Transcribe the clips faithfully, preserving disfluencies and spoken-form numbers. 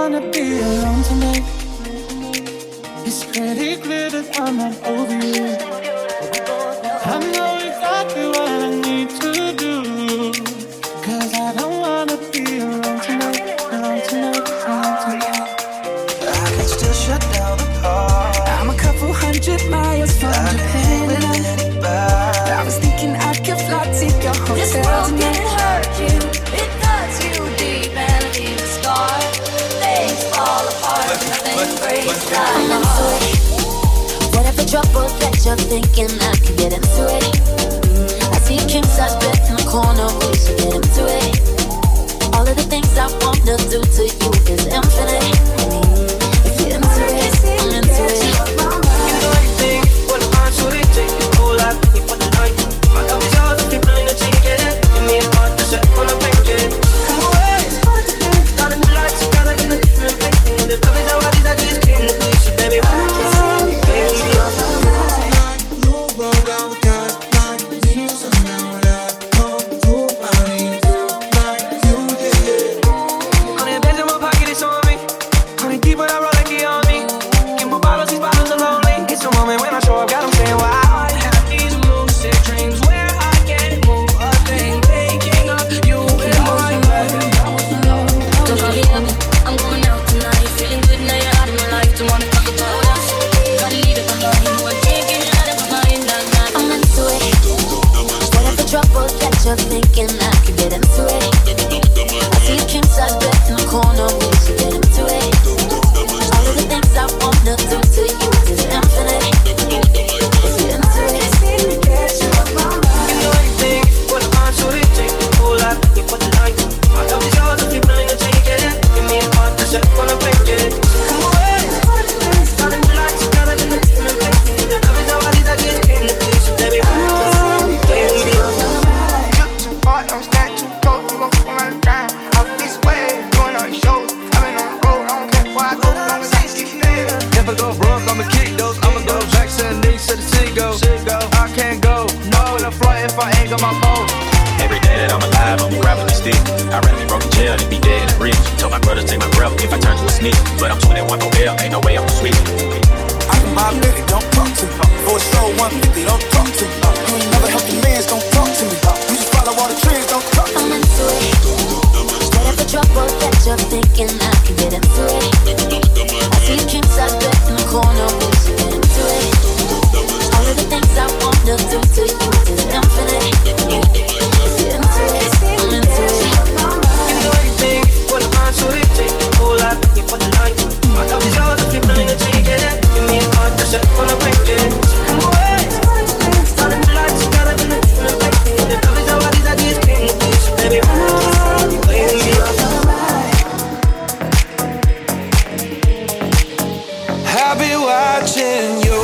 wanna be alone tonight. It's pretty clear that I'm not over you. I know exactly what I need to do, cause I don't wanna be alone tonight, alone tonight, alone tonight. I can still shut down the heart. I'm a couple hundred miles from Japan. I was thinking I could fly to your hotel. This world can hurt you, it cuts you deep and leaves a scar. Things fall apart, nothing breaks like a heart. Whatever trouble that you're thinking, I can get into it. I see a king size bed in the corner, we should get into it. All of the things I wanna do to you is infinite. If you're into it, I'm into it. You know anything, what a mind should it take? A whole lot, you put the night. My love is yours, if you're willing to take it. Give me a heart to set on a blanket. Come away, got a new light, you got it in a different place. The love is how I did, I just came to please you, baby. Trouble that you're thinking, I can get into it. I see a king size bed in the corner, we should get into it. All of the things I wanna do to you is infinite. If you're into it, you know anything, what a mind should it take? A whole lot, you put the light. My love is yours, if you're willing to take it. Give me a heart to set on a blanket. Come away, got a new light, you got it in a different place. The love is how I did, I just came to please you, baby. Don't stand too close, we gon' fall on the ground. Out this way, doing all these shows. I've been on the road, I don't care where I go, long as I keep living. If I go broke, I'ma kick those. I'ma go back to the knees, to the sea go. I can't go, no in the front if I ain't got my phone. Every day that I'm alive, I'm grabbing the stick. I'd rather be broke in jail than be dead in the bridge. Told my brother take my breath if I turn to a snitch. But I'm twenty-one for bail, ain't no way I'm switch. I can buy a nigga, don't talk to me. For a show one fifty, don't talk to me. You ain't never helped the mans, don't talk to me. You just follow all the trends, don't talk to me. I'm into it. Whatever trouble that you're thinking, I can get into it. I see a king size bed in the corner, we should get into it. All of the things I wanna do to you is infinite. If you're into it, I'm into it. You know anything, what a mind should it take? A whole lot, you put the light. My love is yours, if you're willing to take it. Give me a heart to set on a blanket. Come away, got a new light, you got it in a different place. The love is how I did, I just came to please you, baby. I'll be watching you.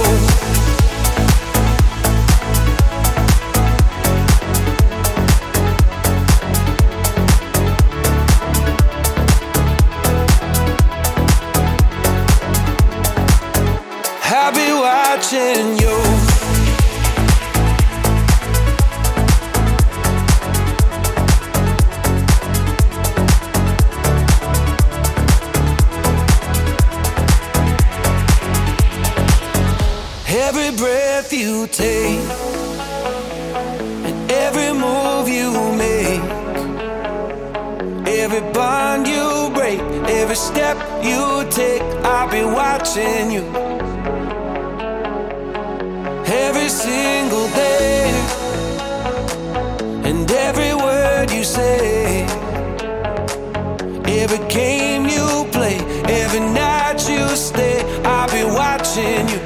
I'll be watching you. Every breath you take and every move you make, every bond you break, every step you take, I'll be watching you. Every single day and every word you say, every game you play, every night you stay, I'll be watching you.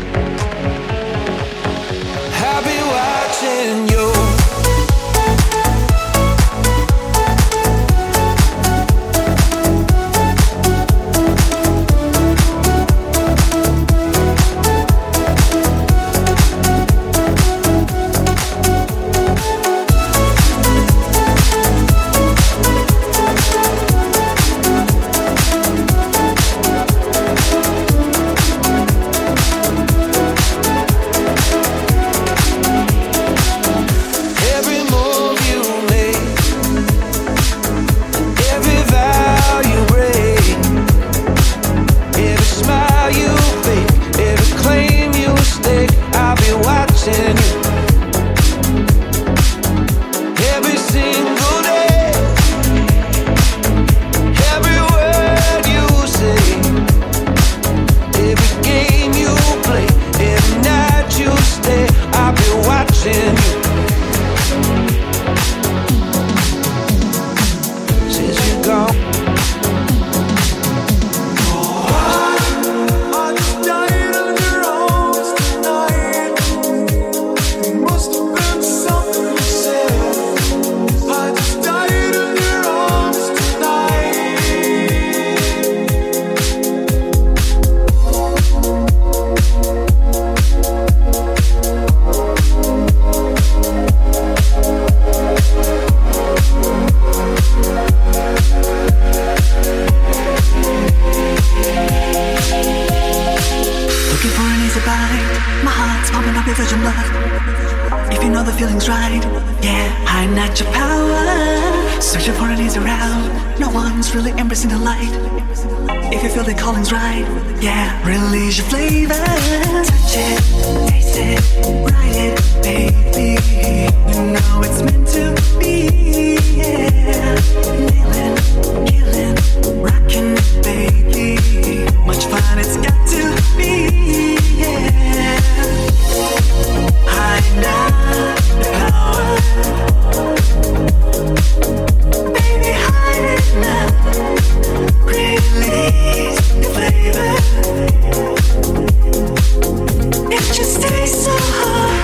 I'll be watching you. feeling's right. Yeah, hiding at your power, searching for an easy route. No one's really embracing the light. If you feel the calling's right, yeah, release your flavor. Touch it, taste it, ride it, baby. You know it's meant to be. Yeah, nailing, killing, rocking it, baby. Much fun it's got to be. Yeah, hiding at the power. Baby, hide it now. Release the flavor. It just tastes so hot.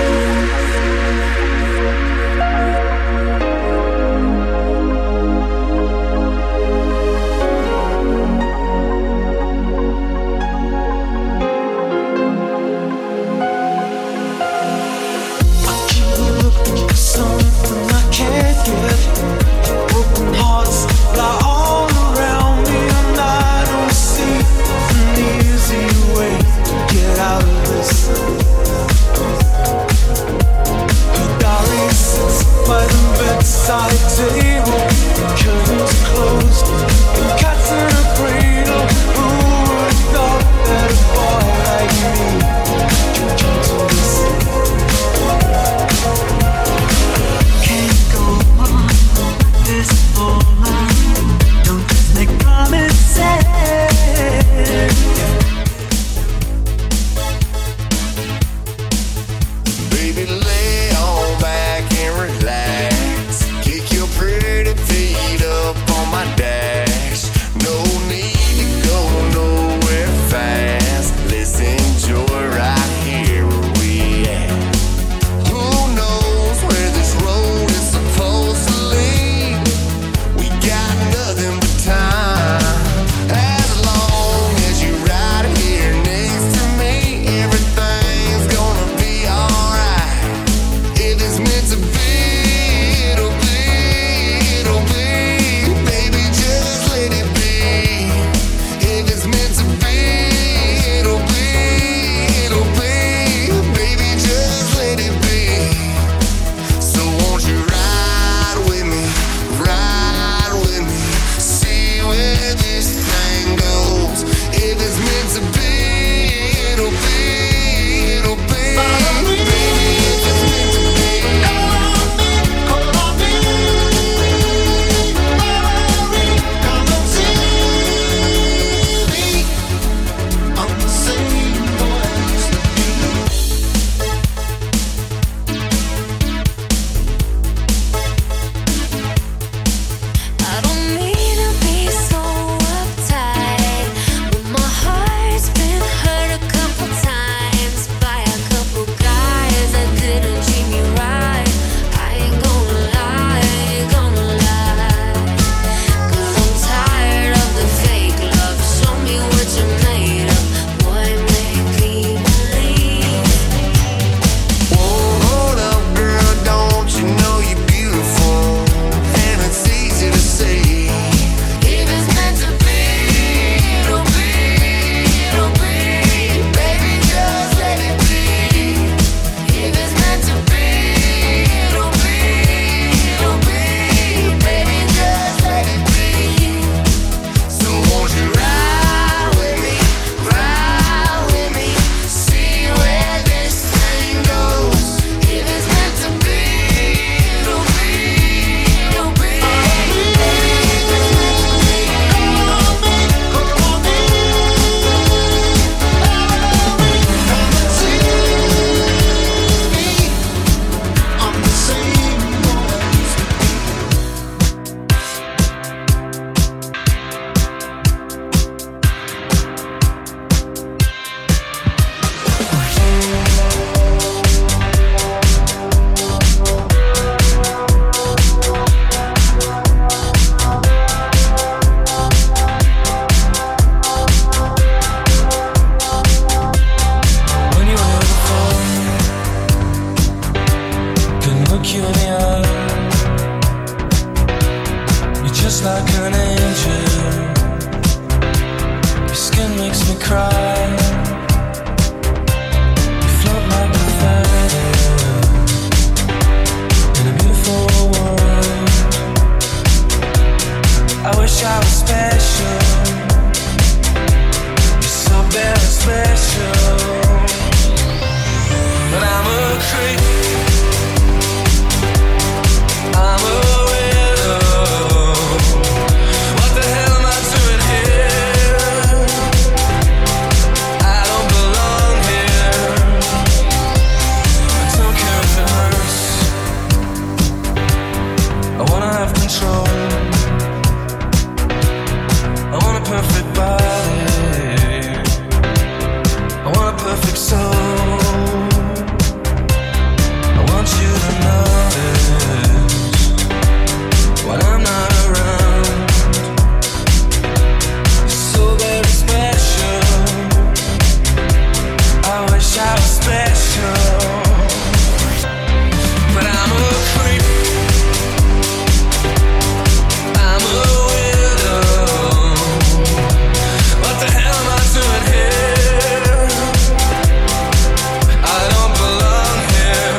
I keep looking for something I can't get. Broken hearts lie all around me, and I don't see an easy way to get out of this. Her diary sits by the bedside table, curtains closed, the cat's in a cradle. Who would have thought that a boy like me could come to this? Can't go on like this for long. Don't just make promises. Baby, lay on back and relax. Kick your pretty feet up on my dash. No need to go nowhere fast. Let's enjoy right here where we at. Who knows where this road is supposed to lead? We got nothing but time. As long as you're right here next to me, everything's gonna be alright. If it's meant to be, it'll be, it'll be. Baby, just let it be. If it's meant to be, it'll be, it'll be. Baby, just let it be. So won't you ride with me, ride with me, see where this thing goes. If it's meant to be, it'll be, it'll be. Baby, if it's meant to be. Call on me, come and see me. I'm the same boy I used to be. I don't mean to be so special. You're so very special. But I'm a creep. I'm a widow. What the hell am I doing here? I don't belong here. I don't care if it hurts. I wanna have control. I want a perfect body. I want a perfect soul. I want you to notice when I'm not around. You're so very special. I wish I was special, but I'm a creep. I'm a widow. What the hell am I doing here? I don't belong here.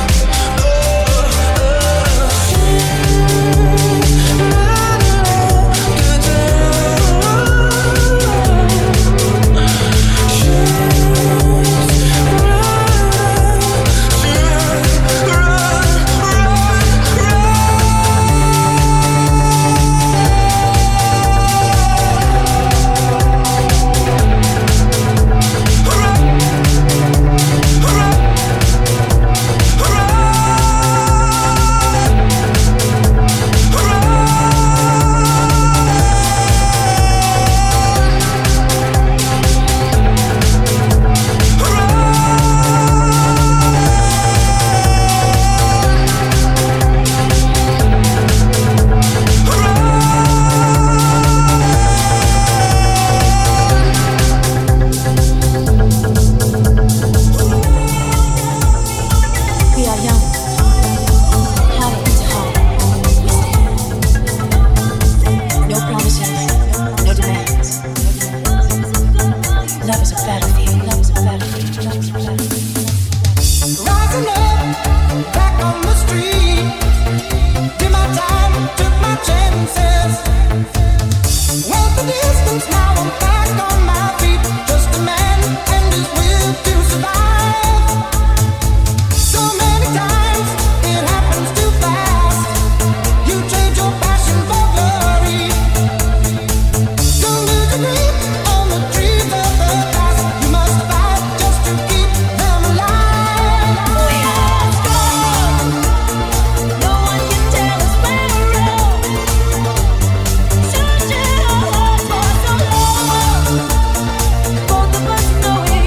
We are young, hearted to heart. No promises, no demands. Love is a battlefield. Love is a battlefield. Love is a battlefield. Rising up, back on the street. Did my time, took my chances. Went the distance, now I'm back on my feet. Just a man and his will to survive. So many times it happens too fast. You trade your passion for glory. Don't lose your grip on the trees of the past. You must fight just to keep them alive. We are strong. No one can tell us we're wrong. Searching our hearts for so long. Both of us knowing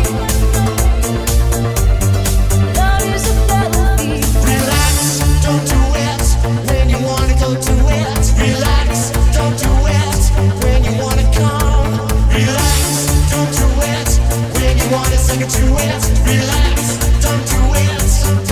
love is a battlefield. Relax, don't do it when you wanna go to it. Relax, don't do it when you wanna come. Relax, don't do it when you want a second to it. Relax, don't do it.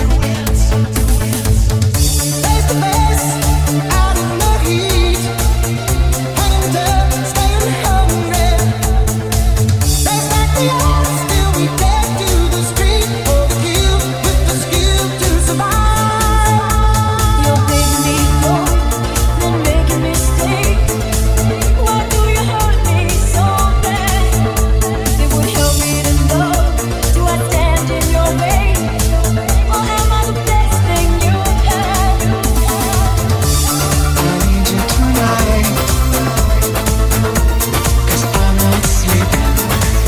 Face to face, out in the heat, hanging tough, staying hungry. Face like the odds, still we take to the street for the kill with the skill to survive. You're making me go, then making me stay. Why do you hurt me so bad? It would help me to know. Do I stand in your way, or am I the best thing you have? I need you tonight, 'cause I'm not sleeping.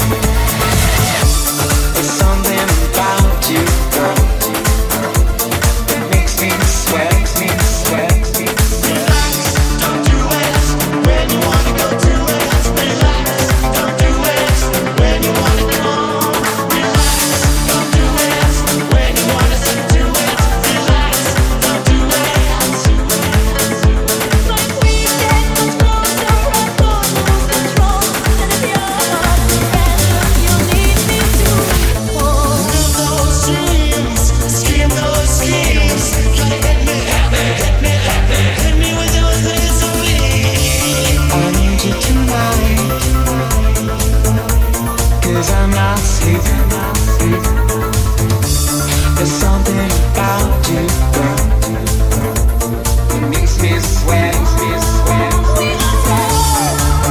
There's something about you, girl, that makes me sweat, makes me sweat, makes me sweat. Relax, don't do it when you wanna go to it. Relax, don't do it when you wanna come. Relax, don't do it when you wanna sit to it. Relax, don't do it. Like we get much closer, right? Don't lose control. And if you're not better, you need me to fall. Live those dreams, scheme those schemes. Gotta hit me, hit me, hit me, hit me, hit me with your misery. I need you tonight, 'cause I'm not sleeping. There's something about you, girl, that makes me sweat, makes me sweat. We are strong.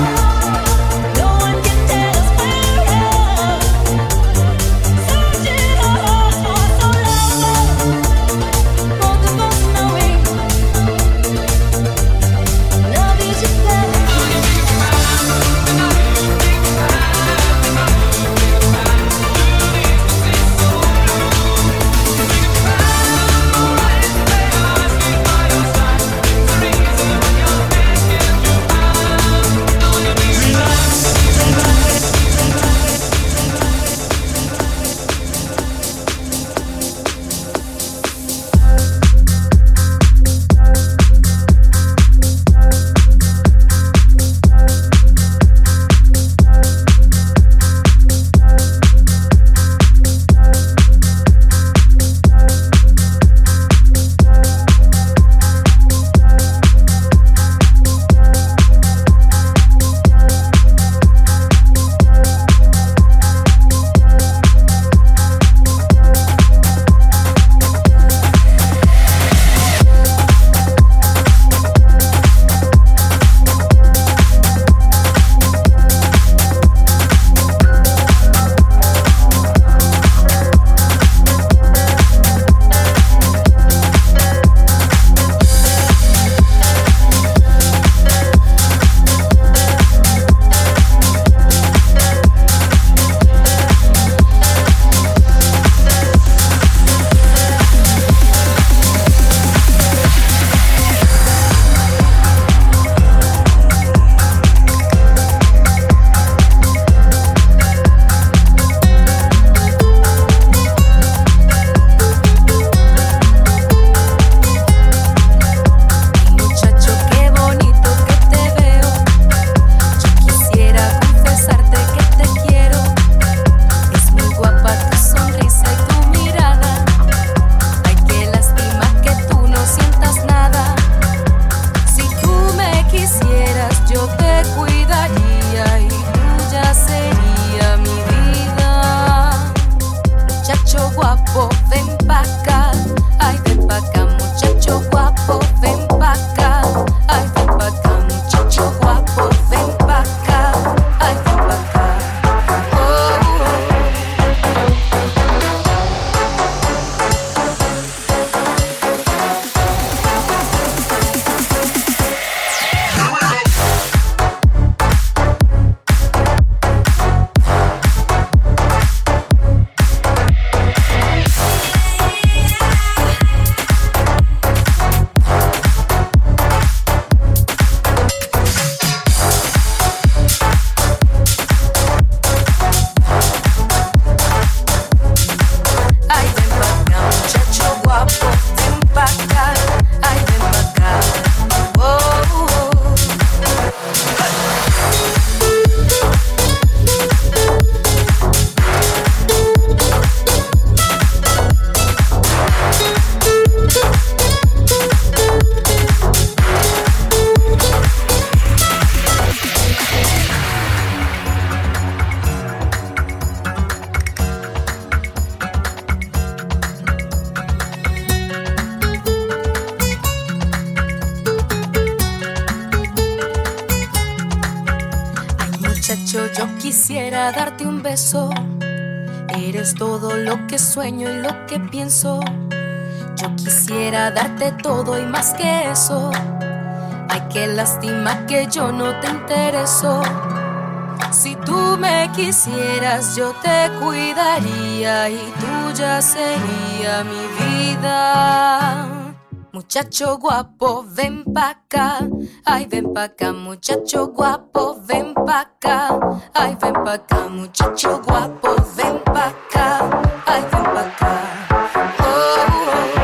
Muchacho, yo quisiera darte un beso. Eres todo lo que sueño y lo que pienso. Yo quisiera darte todo y más que eso. Ay, qué lástima que yo no te intereso. Si tú me quisieras, yo te cuidaría y tuya sería mi vida. Muchacho guapo, ven pa' acá. Ay, ven pa' acá, muchacho guapo, ven pa' acá. Ay, ven pa' acá, muchacho guapo, ven pa' acá. Ay, ven pa' acá. Oh, oh.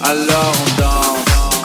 alors on danse.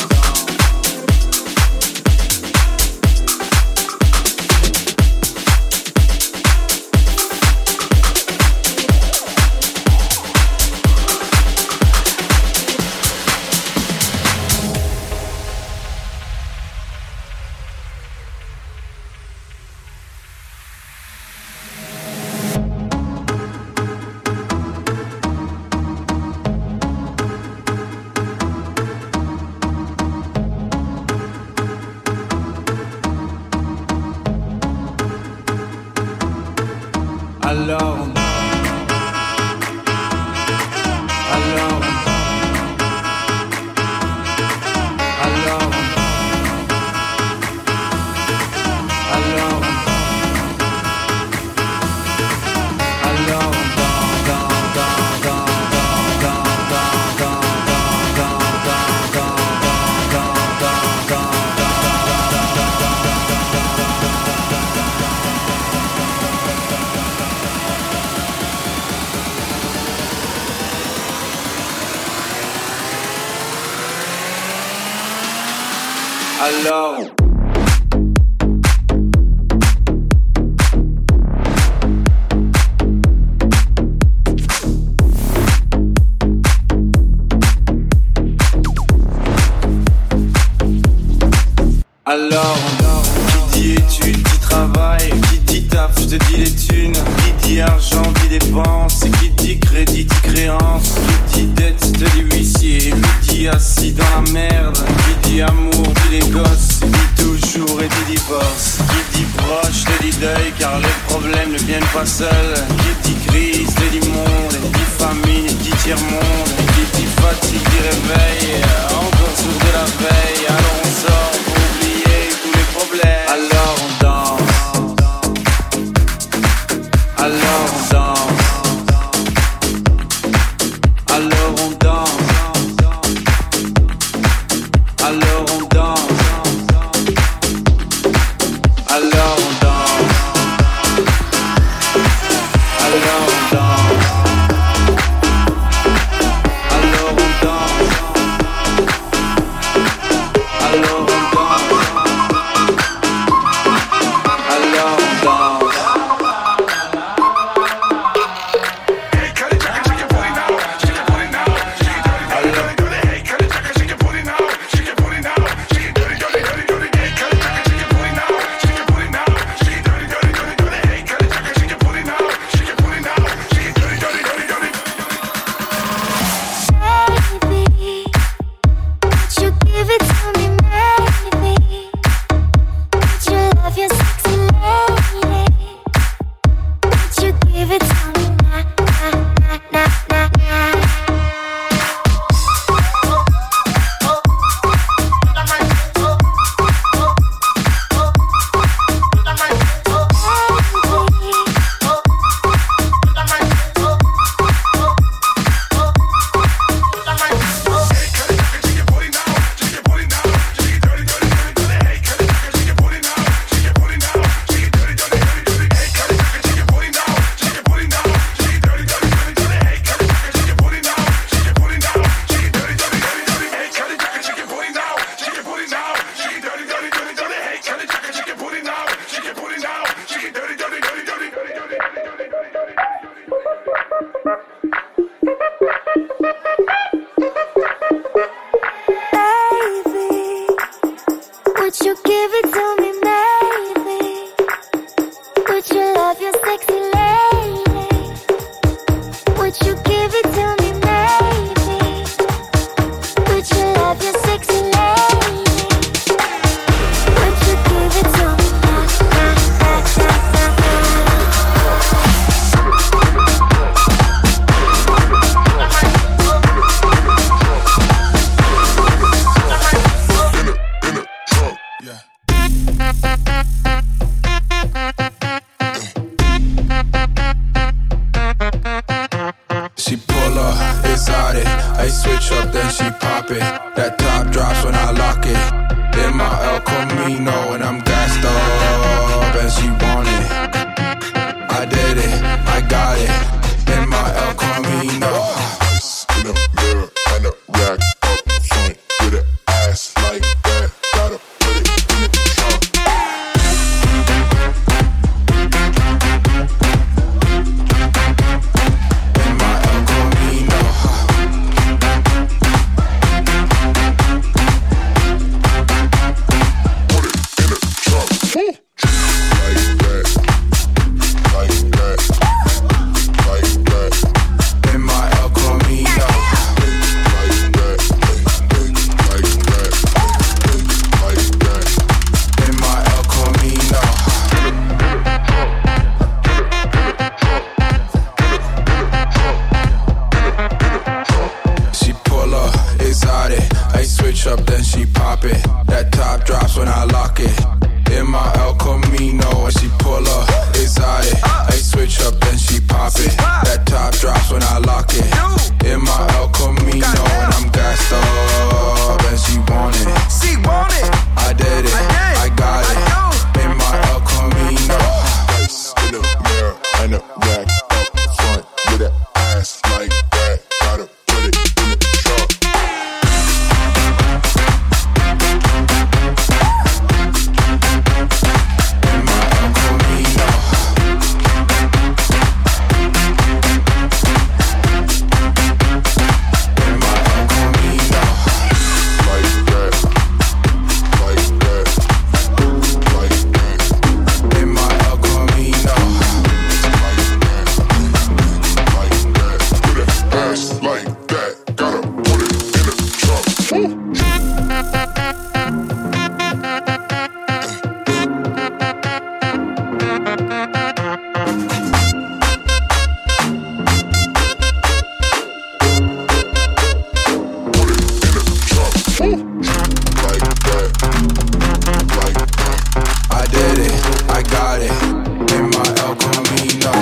Alors on Alors on Alors on Alors on Alors on Alors Alors, qui dit études, dit travail, qui dit taf, je te dis les thunes, qui dit argent, dit dépenses, qui dit crédit, dit créance, qui dit dette, te dit huissier, qui dit assis dans la merde, qui dit amour, dit les gosses, dit toujours et dit divorce, qui dit proche, te dit deuil, car les problèmes ne viennent pas seuls, qui dit crise, te dit monde, dit famine, dit tiers-monde, qui dit fatigue, dit réveil, encore sourd de la veille, alors on sort pour oublier tous les problèmes. Alors on danse. Alors on danse. Alors on danse. Alors on danse. Alors on danse. Alors on danse. Alors on danse. Alors on switch up, then she pop it. That top drops when I lock it. In my El Camino, when she pull up, exotic. I switch up, then she pop it. That top drops when I lock it. In my El Camino, and I'm gassed up, and she want it. She want it. I did it, I got it. In my El Camino. Ice in the mirror and a rack up front with that ass like that. Gotta put it in the truck. In my El Camino. In my El Camino. Like that. Like that. Like that. In my El Camino. Like that, gotta put it in the trunk. I did it, I got it. In my El Camino.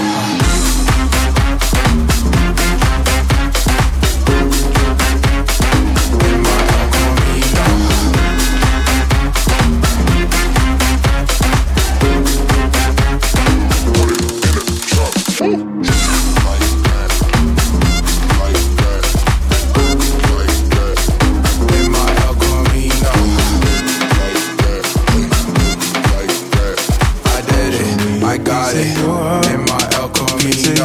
I got it in my El Camino.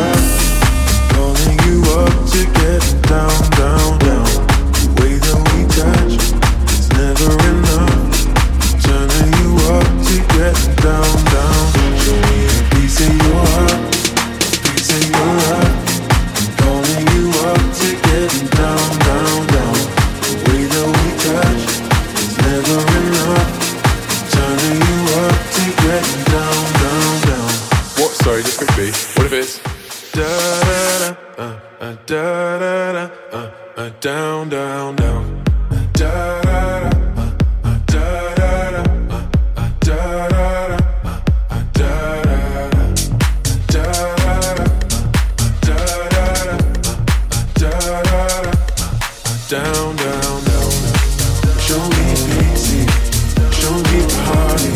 Calling you up to get down, down, down. The way that we touch is never enough. Turning you up to get down, down. Show me a piece of your heart, a piece of your heart. Calling you up to get down, down, down. The way that we touch is never enough. Turning you up to get down, down, down. What? Sorry, just quickly. What if it's Da da da, uh, uh, da da da, uh, uh, down, down, down. Da da da, uh, uh, da da da, uh, uh, da da da, uh, uh, da da da, da da da, uh, da da da, uh, da da da, uh, down, down, down. Show me pity, show me party.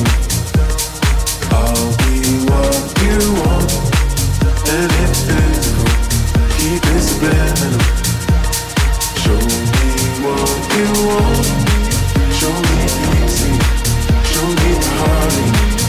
I'll be what you want, and it's physical. Keep it subliminal. Show me what you want. Show me easy. Show me party.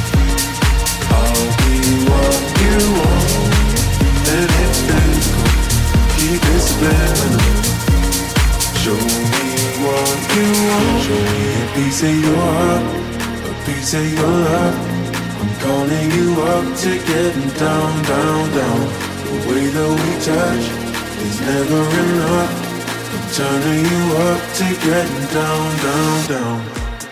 I'll be what you want, and it's physical. Keep it subliminal. Show me what you want. Show me a piece of your heart, a piece of your love. I'm calling you up to getting down, down, down. The way that we touch is never enough. I'm turning you up to getting down, down, down.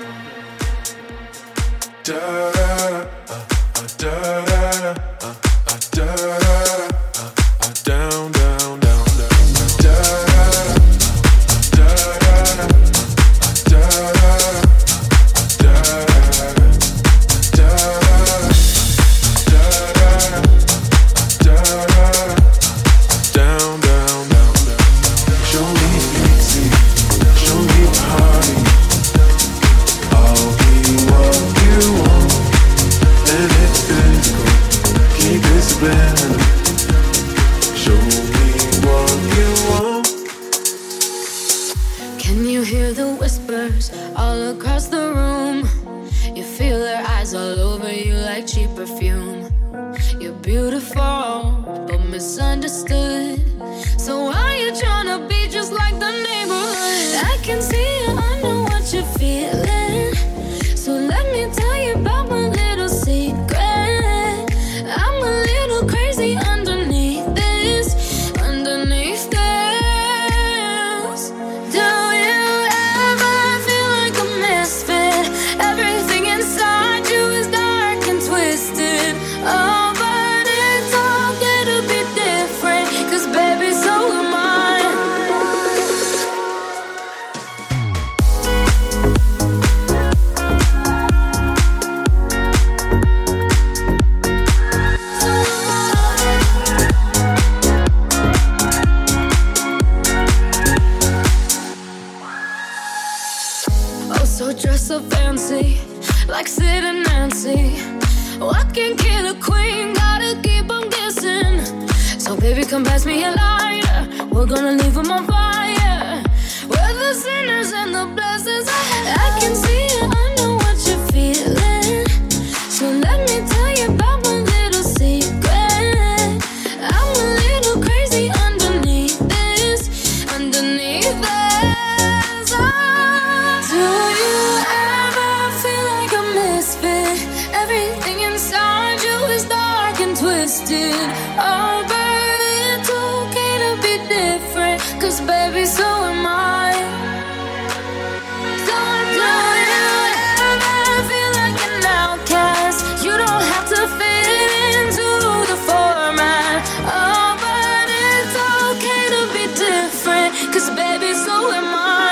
Da da da, uh, uh, da da da, uh, uh, da da da, uh, uh, down, down, down, down. Da da da, uh, da da da, uh, da da da, uh, da da da, da da da. Down, down, down, down. Show me easy, show me party. I'll be what you want, and it's physical. Keep it subliminal. Show me what you want. Can you hear the whispers all across the room? You feel their eyes all over you like cheap perfume. You're beautiful, but misunderstood. So why you tryna be just like the neighborhood? I can see you, I know what you're feeling. So let me tell you about my little secret. I'm a little crazy underneath this, underneath this. Do you ever feel like a misfit? Everything inside you is dark and twisted. Oh, but it's all gonna be different, 'cause baby, so am I. dress so fancy, like Sid and Nancy. Oh, I can't kill a queen, gotta keep on guessing. So baby, come pass me a lighter, we're gonna leave them on fire. We're the sinners and the blessings. I can see it, I know what you're feeling. So let me tell you about one little secret. I'm a little crazy underneath this, underneath this. Oh, do you ever feel like a misfit? Everything inside you is dark and twisted. Oh, but it's okay to be different, 'cause baby, so am I. So do you ever feel like an outcast? You don't have to fit into the format. Oh, but it's okay to be different, 'cause baby, so am I.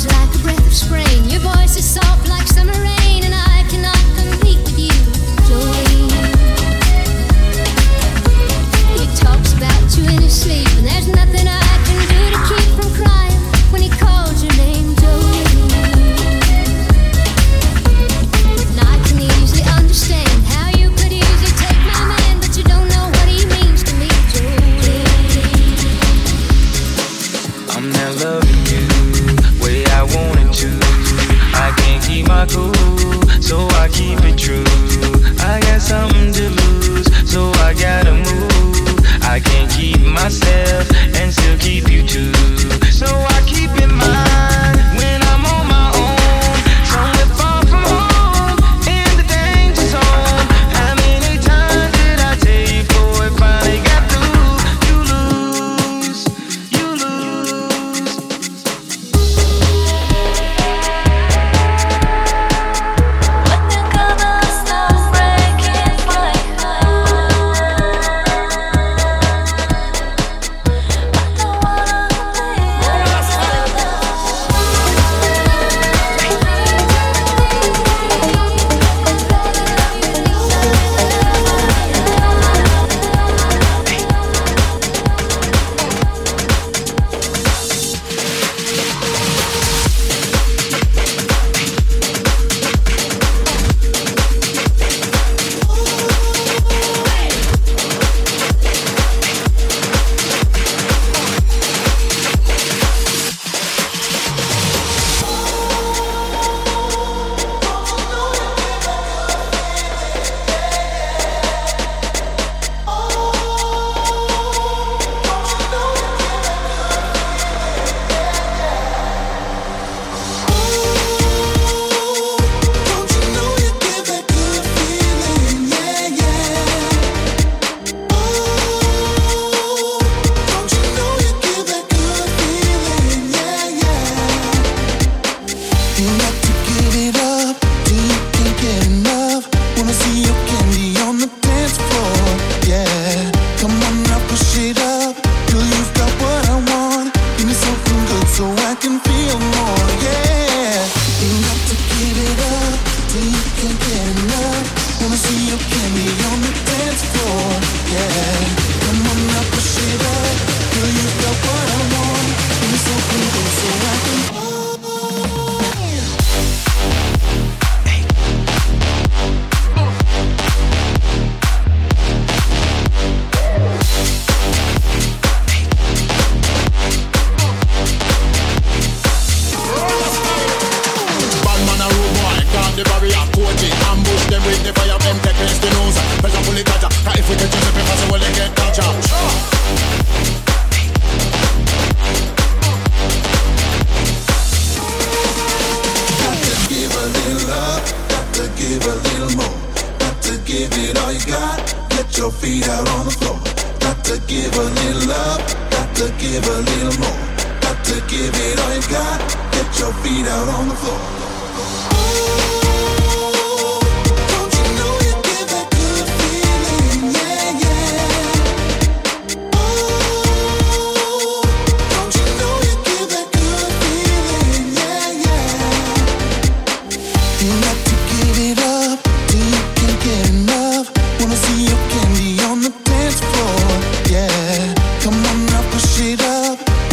like a breath of spring. Your voice is soft like summer rain, and I cannot compete with you, Jolene. He talks about you in his sleep, and there's nothing I can do to keep from crying when he calls your name, Jolene. And I can easily understand how you could easily take my man, but you don't know what he means to me, Jolene. I'm not loving you way I wanted to. I can't keep my cool, so I keep it true. I got something to lose, so I gotta move. I can't keep myself and still keep you too. So I keep in mind when I'm on my own, somewhere far from home, in the danger zone. How many times did I tell you before it finally got through? You lose, you lose.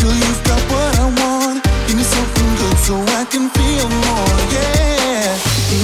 So I can feel more, yeah.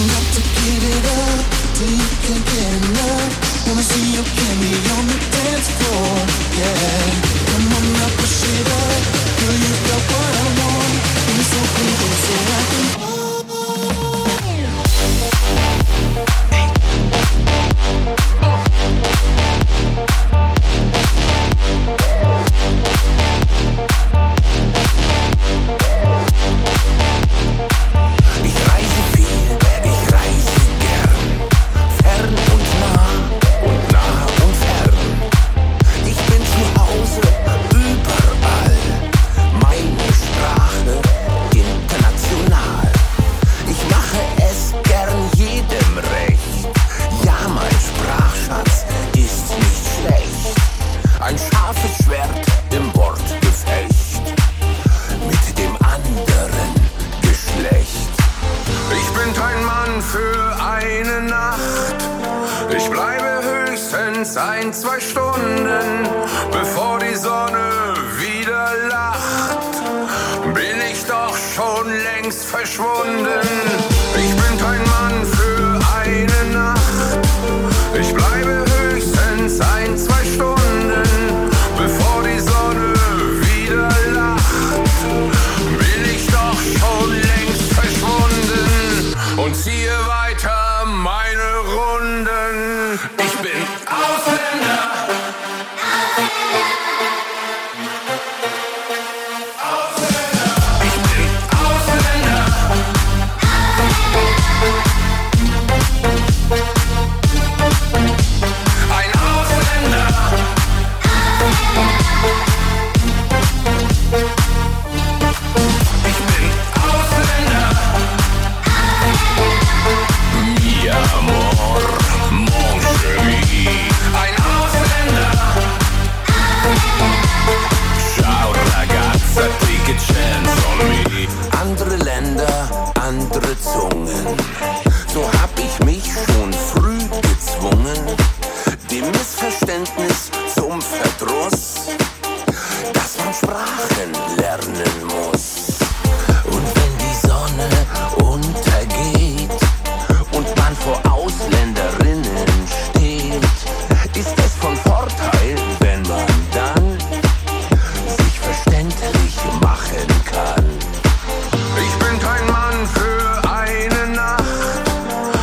höchstens ein, zwei Stunden, bevor die Sonne wieder lacht, bin ich doch schon längst verschwunden. Ich bin kein Mann für eine Nacht, ich bleibe höchstens ein, zwei Stunden, bevor die Sonne wieder lacht, bin ich doch schon längst verschwunden und ziehe weiter meine Runden. Ich bin Ausländer. Ich bin Ausländer. Ein Ausländer. Ich bin Ausländer. Mi amor, mon chéri. Ein Ausländer. Ciao ragazza, take a chance on me. Andere Länder, andere Zungen. So hab ich mich schon früh gezwungen. Dem Missverständnis zum Verdruss, dass man Sprachen lernen muss. Und wenn die Sonne untergeht und man vor Ausländerinnen steht, ist es von Vorteil, wenn man dann sich verständlich machen kann. Ich bin kein Mann für eine Nacht,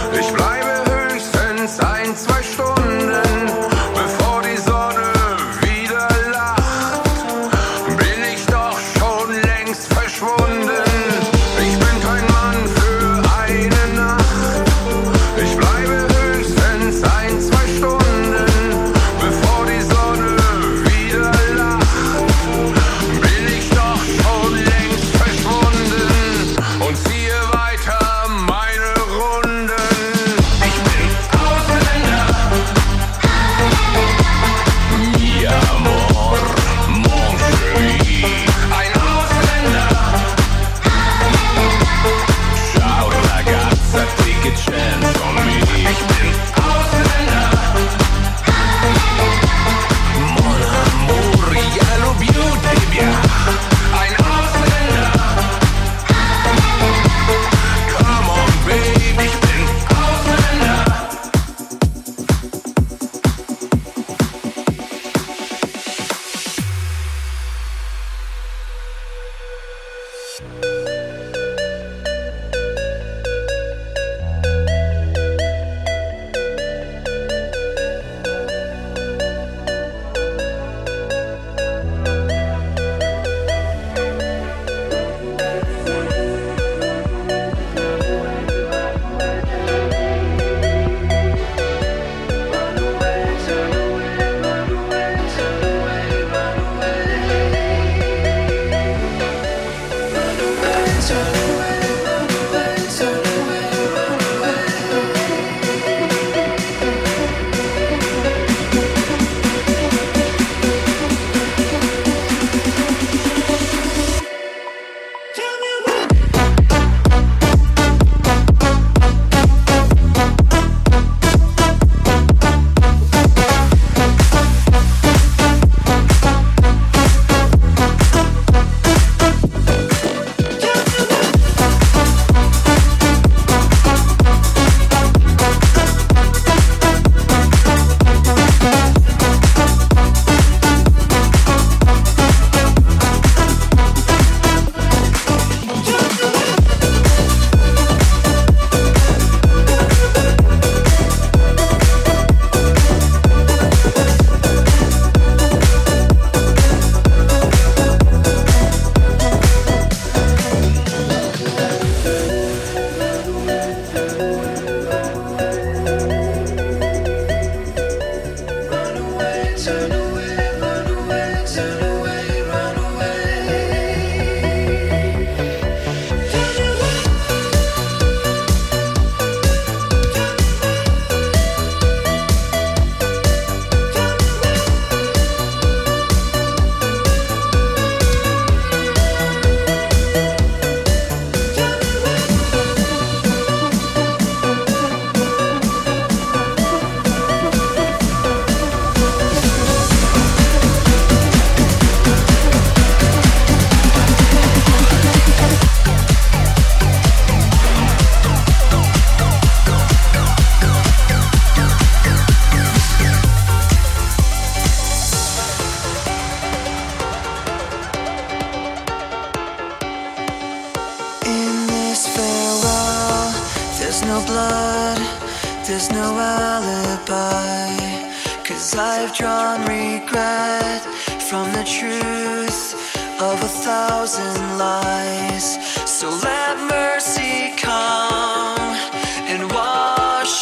no blood, there's no alibi. Cause I've drawn regret from the truth of a thousand lies. So let mercy come and wash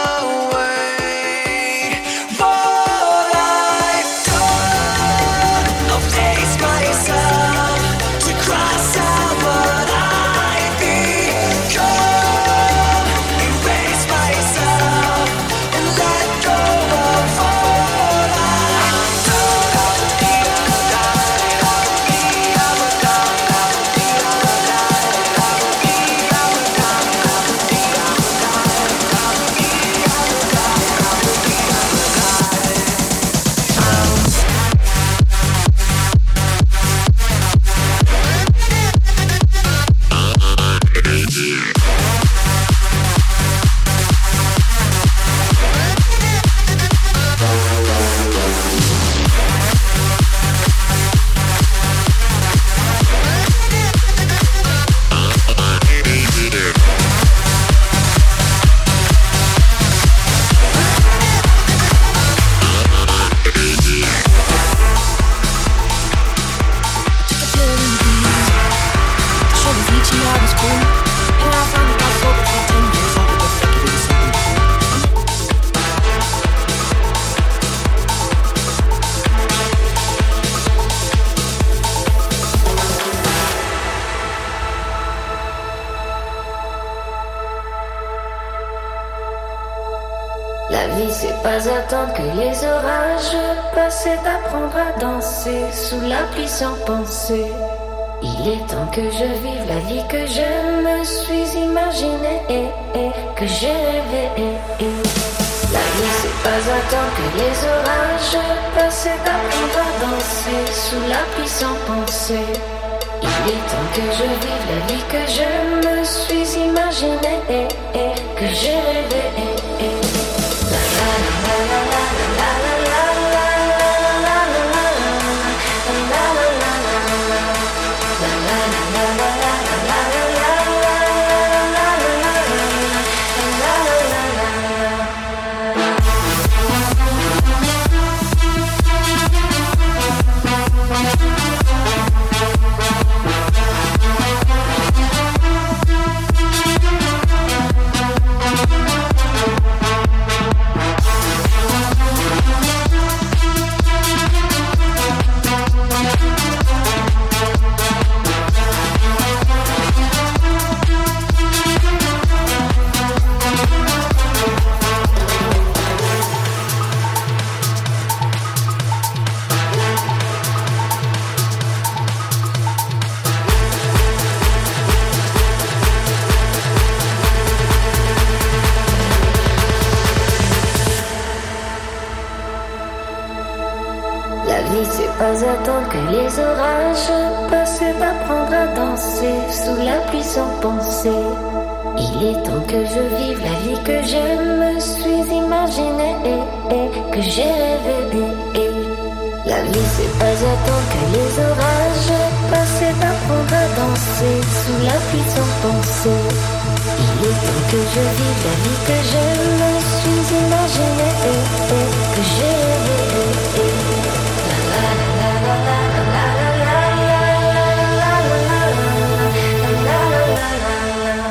away what I've done. I'll face myself to cross out what I've become. Erase myself and let go of what I've done. La vie c'est pas attendre que les orages passent, c'est apprendre à danser sous la pluie sans penser. Il est temps que je vive la vie que je me suis imaginée et, et que j'ai rêvé. Et, et. La vie c'est pas attendre que les orages passent, c'est apprendre à danser sous la pluie sans penser. Il est temps que je vive la vie que je me suis imaginée et, et que j'ai rêvé. Et, et. La la la la la la la la la la la pas attendre que les orages passent, d'apprendre à danser sous la pluie sans penser. Il est temps que je vive la vie que je me suis imaginée et, et que j'ai rêvé. Et, et. La vie c'est pas attendre que les orages passent, d'apprendre à danser sous la pluie sans penser. Il est temps que je vive la vie que je me suis imaginée et, et que j'ai rêvé. Et, et. La la la la la la la la la la la.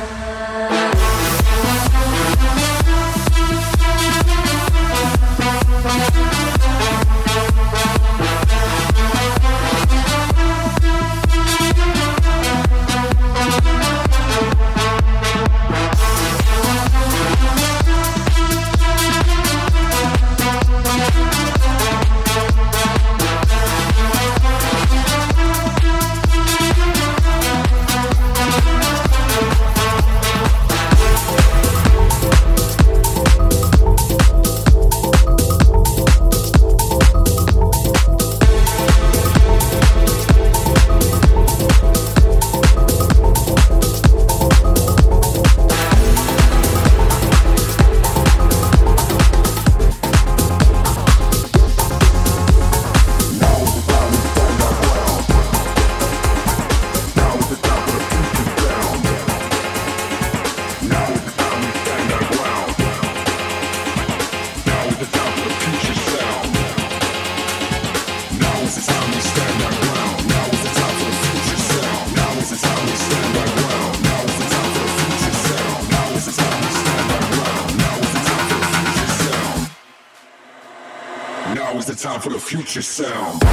is the time for the future sound.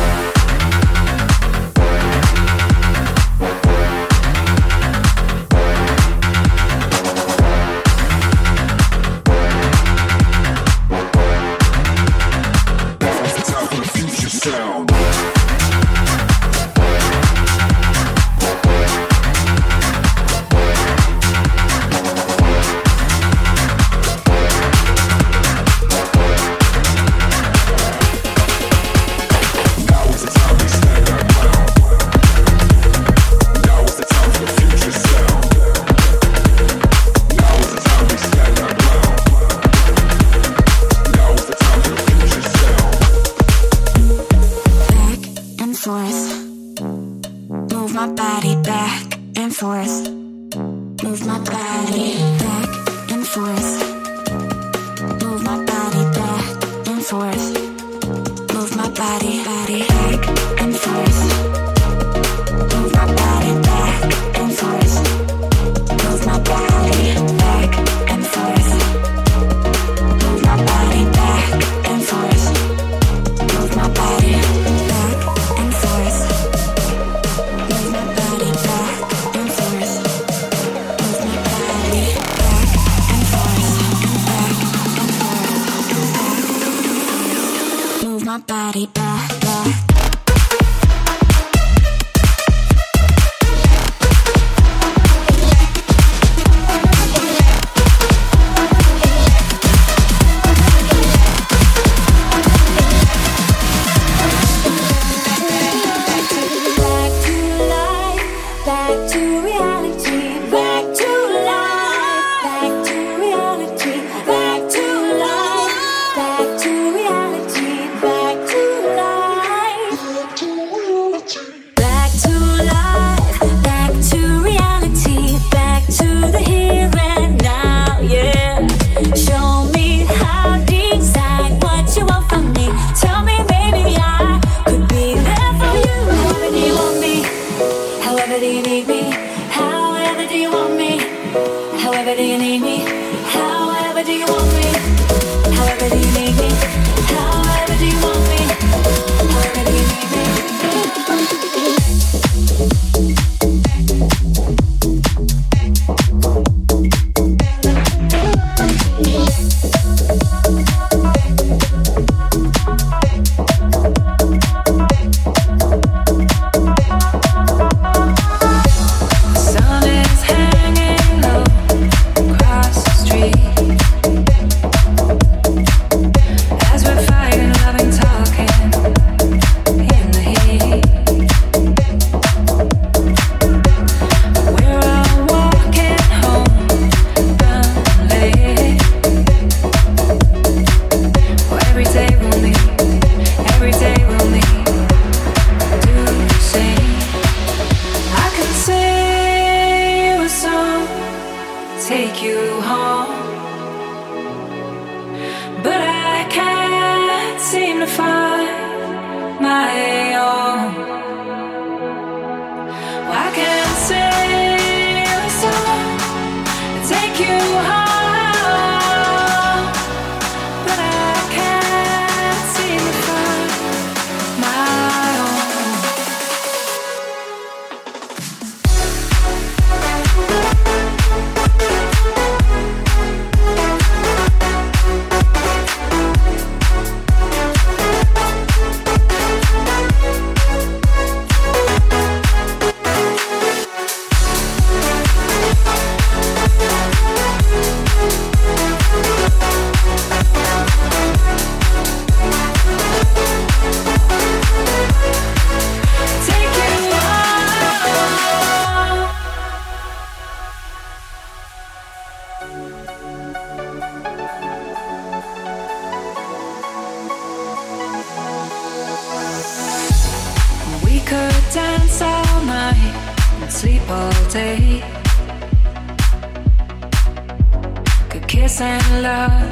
and love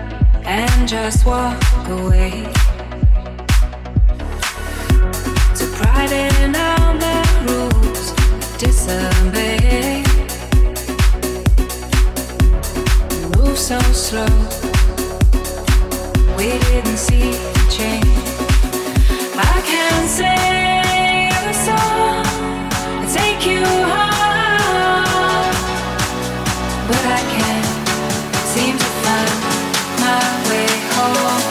and just walk away. To pride in all the rules, disobey. Move so slow, we didn't see reaching. I can't sing a song and take you home, but I can't seem to find my way home.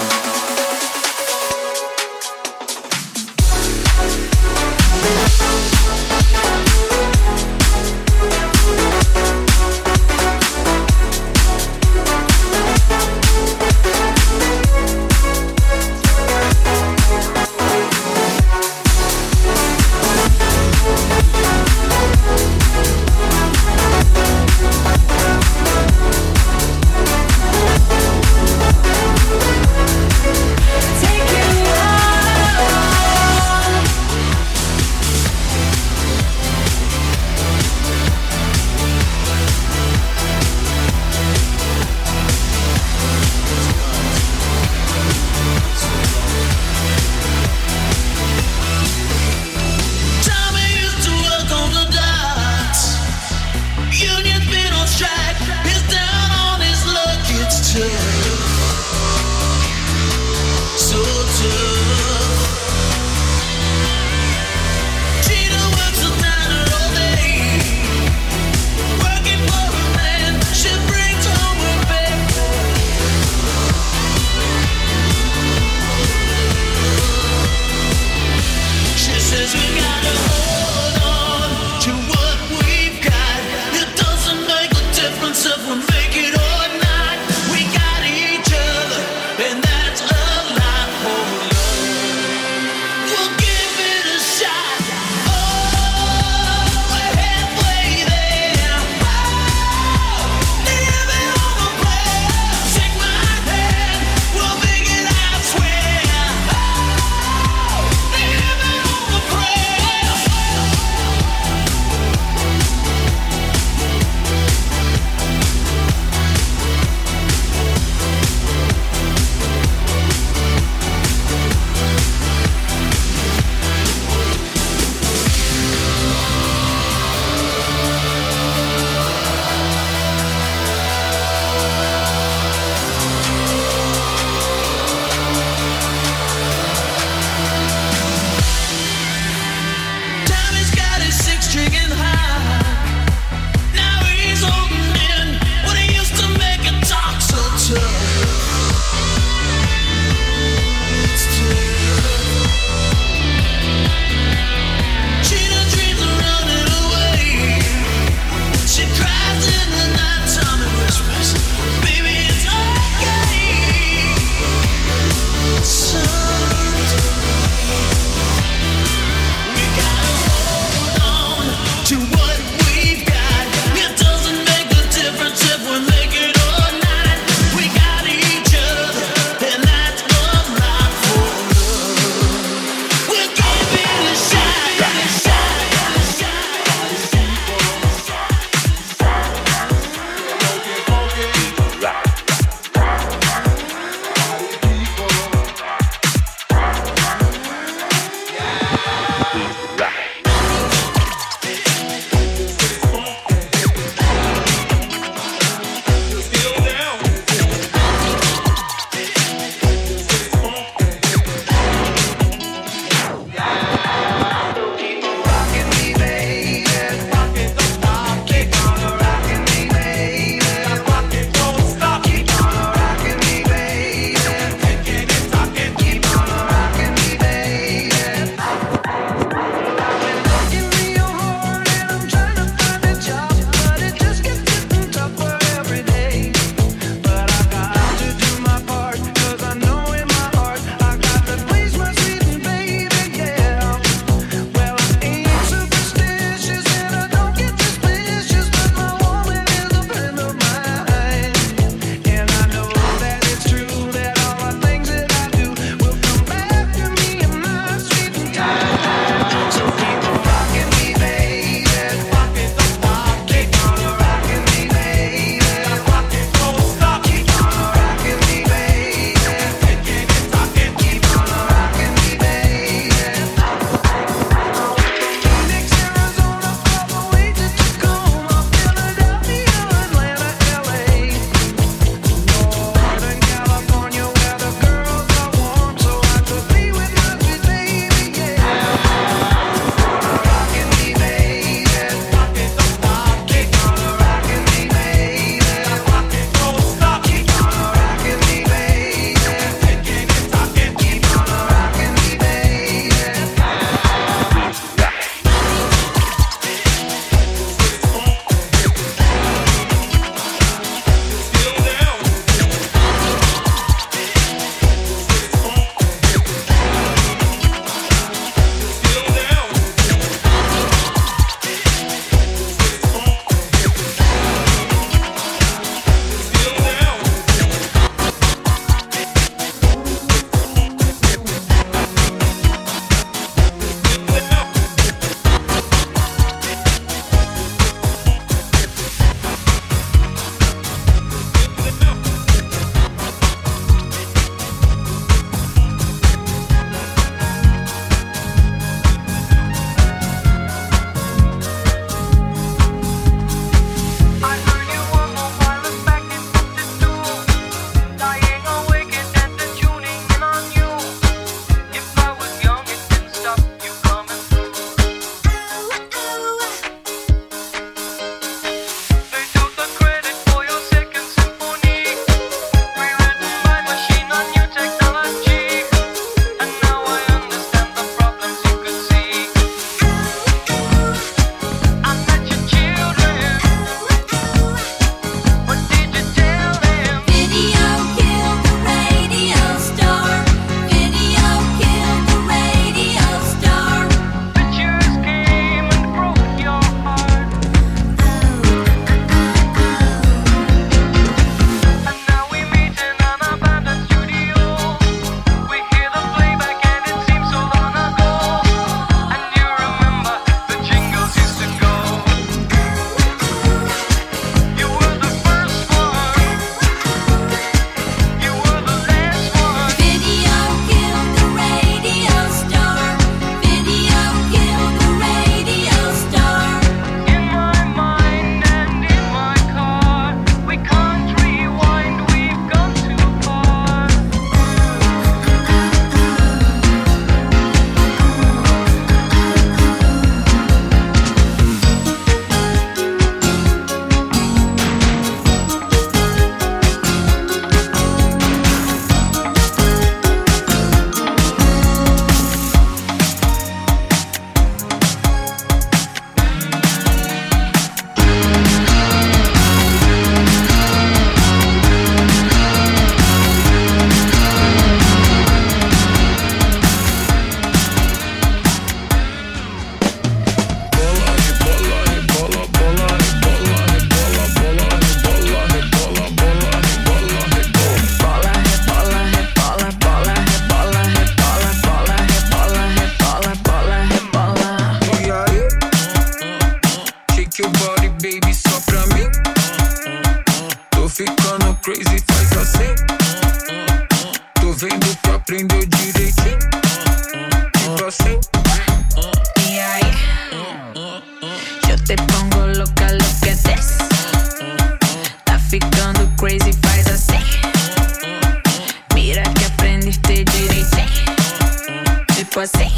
crazy, faz assim. Tô vendo que aprendeu direitinho. Tipo assim. Y ahí, yo te pongo loca, lo que des. Tá ficando crazy, faz assim. Mira que aprendiste direitinho. Tipo assim.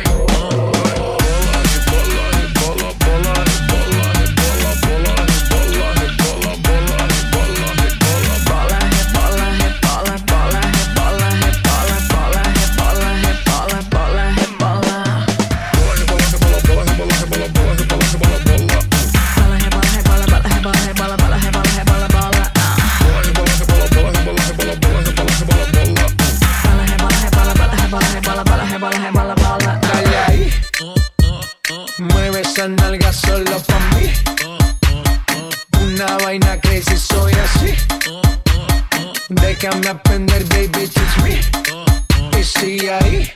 Mueve esa nalga solo pa' mí. Una vaina crazy, soy así. Déjame aprender, baby, teach me. Y sigue ahí.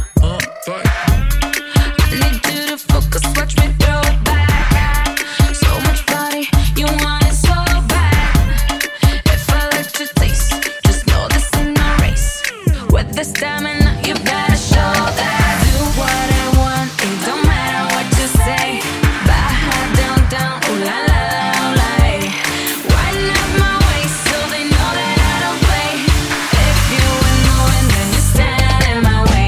Need you to focus, watch me throw it back. So much body, you want it so bad. If I let you taste, just know this ain't no race. With the stamina, you gotta show that. Do what I want, it don't matter what you say. Baja down, down, ooh la la la, ooh la eh. Wind up my waist so they know that I don't play. If you ain't moving, then you stand in my way.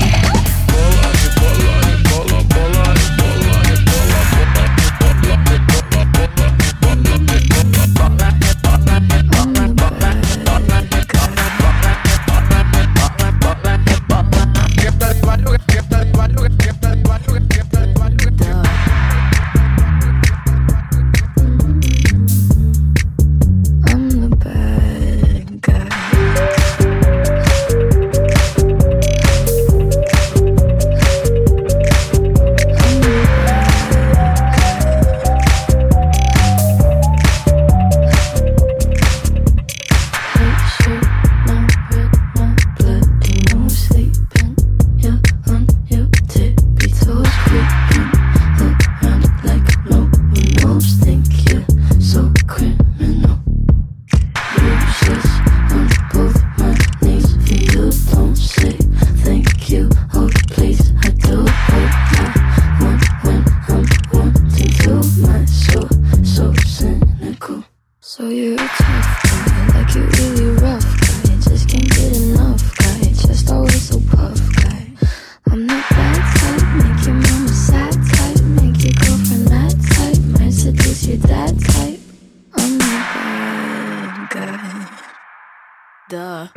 So you're a tough guy, like you're really rough guy. Just can't get enough guy, just always so puff guy. I'm that bad type, make your mama sad type, make your girlfriend mad type, might seduce your dad type. I'm the bad guy. Duh.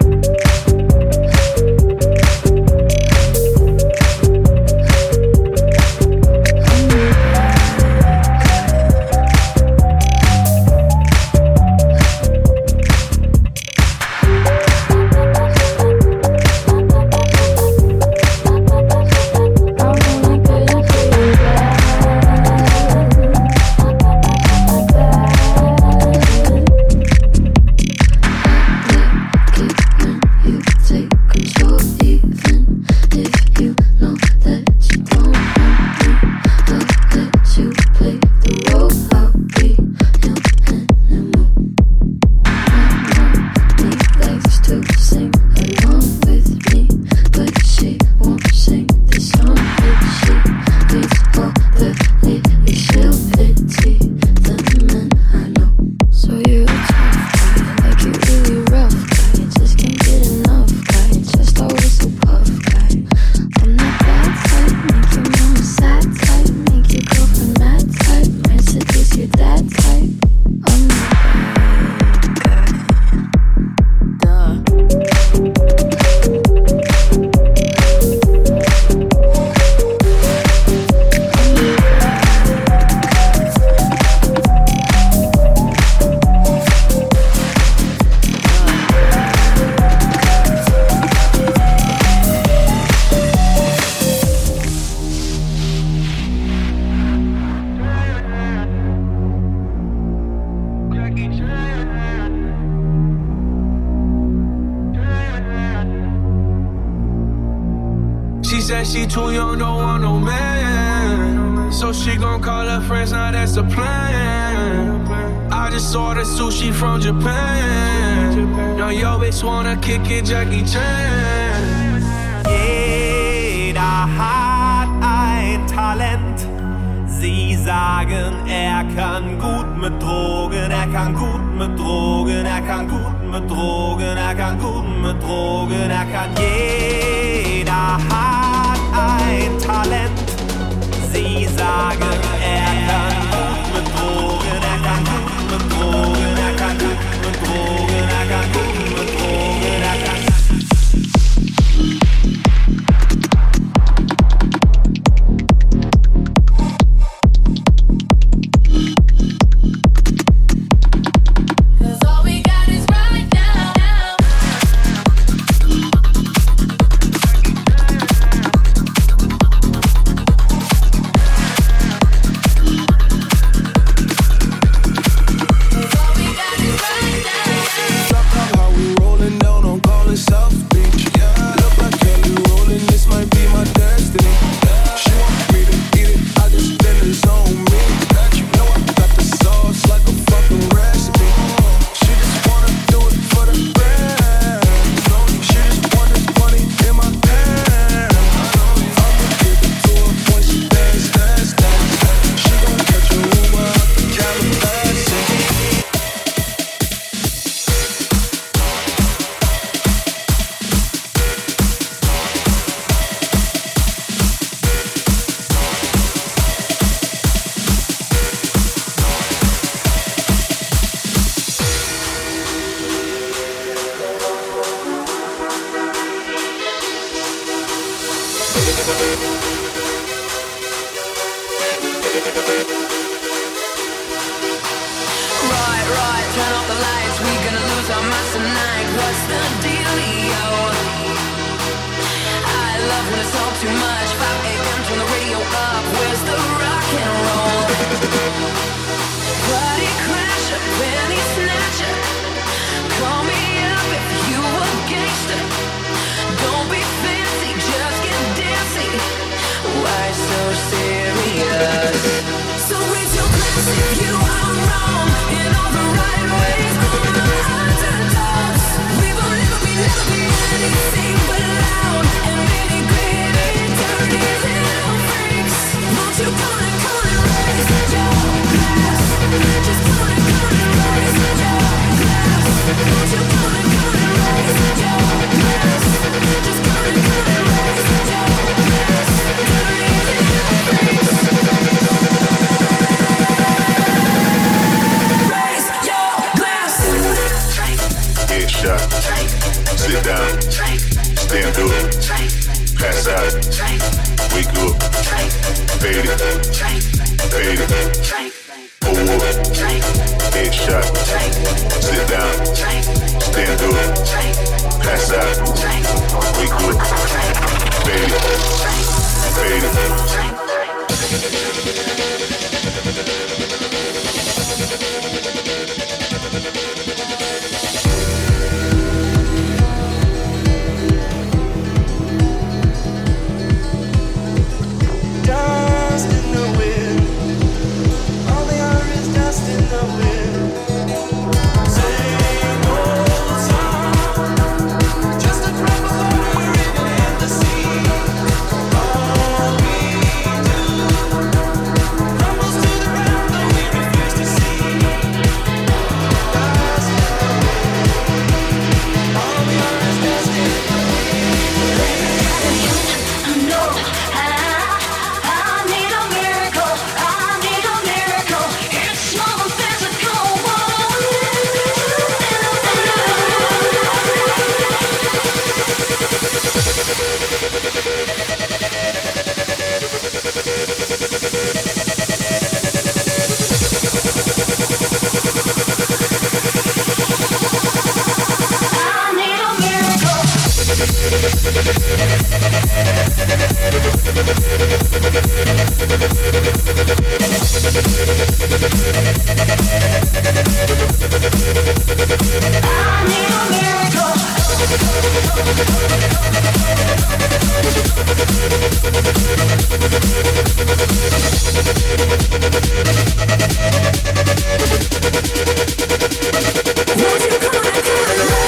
said she too young, don't want no man. So she gon' call her friends, now that's the plan. I just ordered sushi from Japan. Now yo bitch wanna kick it, Jackie Chan. Jeder hat ein Talent. Sie sagen, er kann gut mit Drogen, er kann gut mit Drogen, er kann gut mit Drogen, er kann gut mit Drogen, er kann. Jeder hat ein Talent. Sie sagen, er kann gut mit Drogen, er kann gut mit Drogen, er kann gut mit Drogen, er kann gut mit Drogen, er kann. Won't you come and come and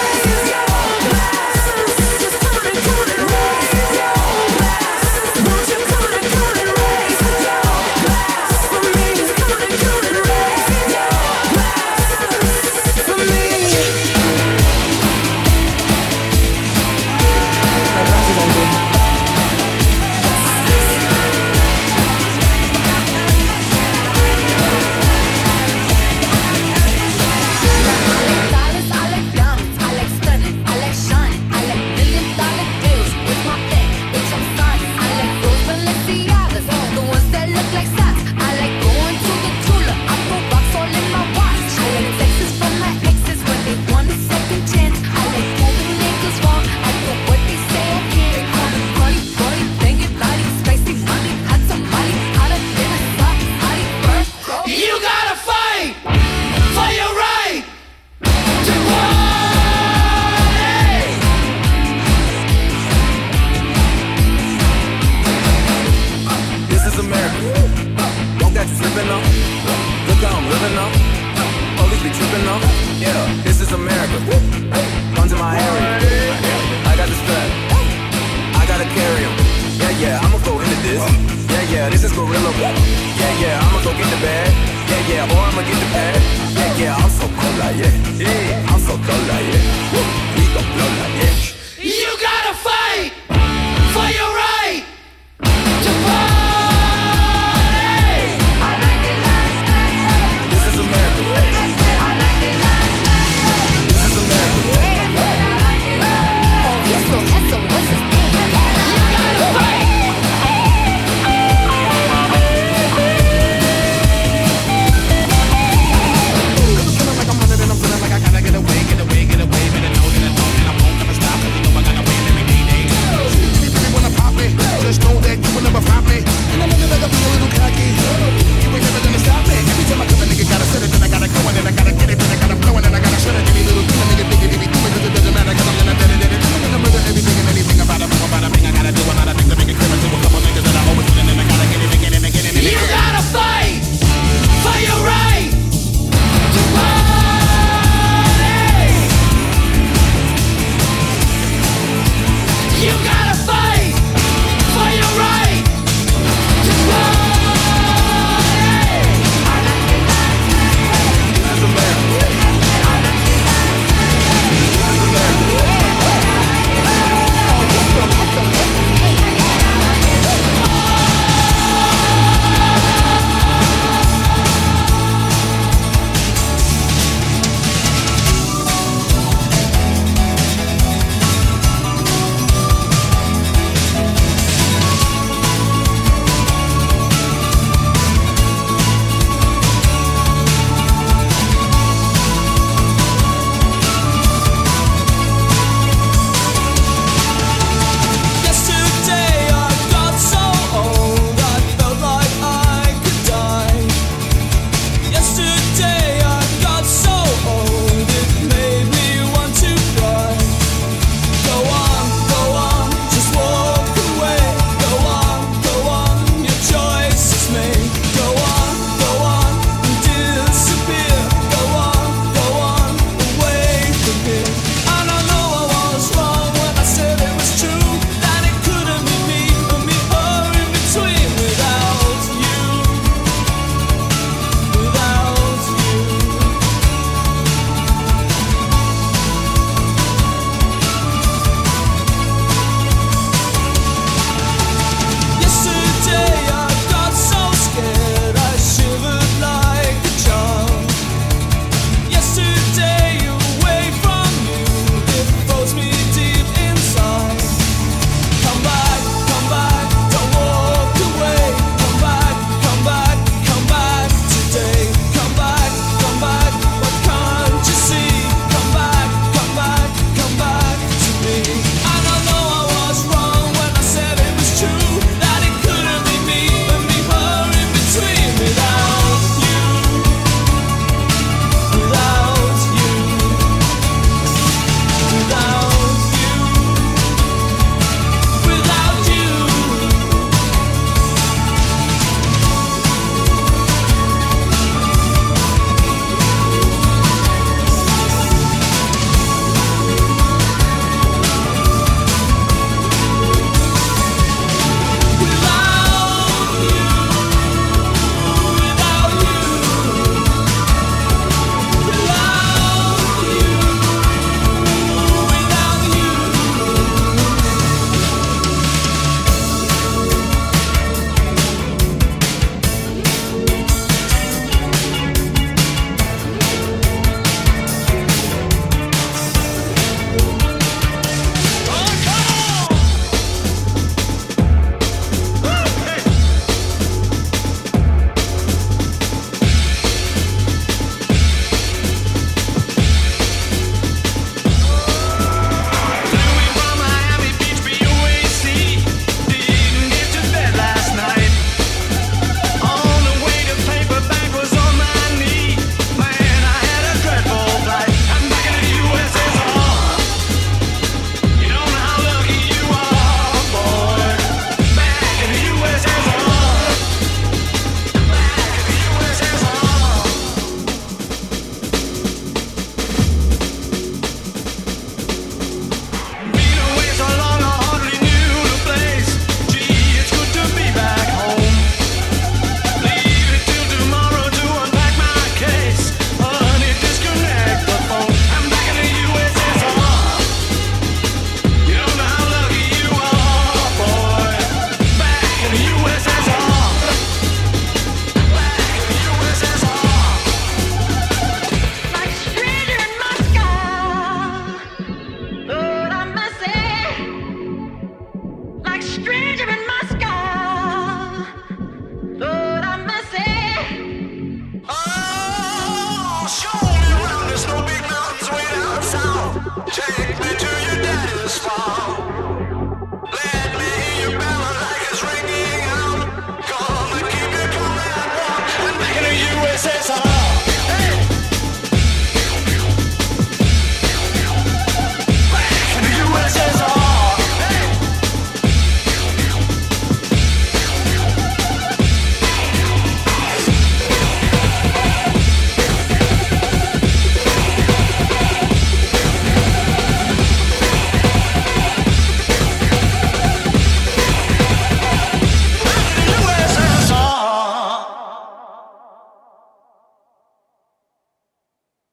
is America. Guns in my area. I got the strap. I gotta carry 'em. Yeah, yeah, I'ma go into this. Yeah, yeah, this is gorilla. Yeah, yeah, I'ma go get the bag. Yeah, yeah, or I'ma get the pad. Yeah, yeah, I'm so cold like yeah.